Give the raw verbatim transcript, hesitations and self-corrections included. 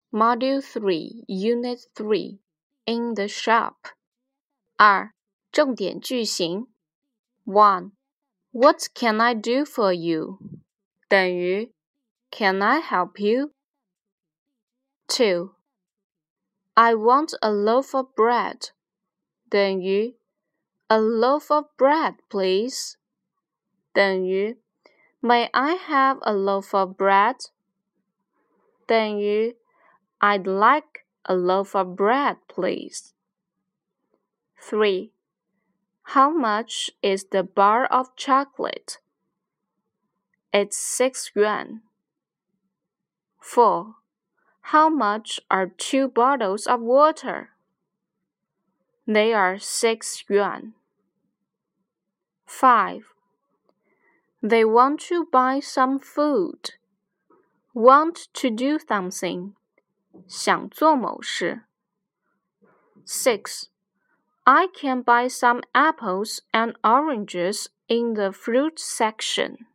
Module three, Unit three, In the shop. 二、重点句型 one. What can I do for you? 等于 Can I help you? two. I want a loaf of bread. 等于 A loaf of bread, please. 等于 May I have a loaf of bread? 等于 I'd like a loaf of bread, please. three. How much is the bar of chocolate? It's six yuan. four. How much are two bottles of water? They are six yuan. five. They want to buy some food. Want to do something. 想做某事。six. I can buy some apples and oranges in the fruit section.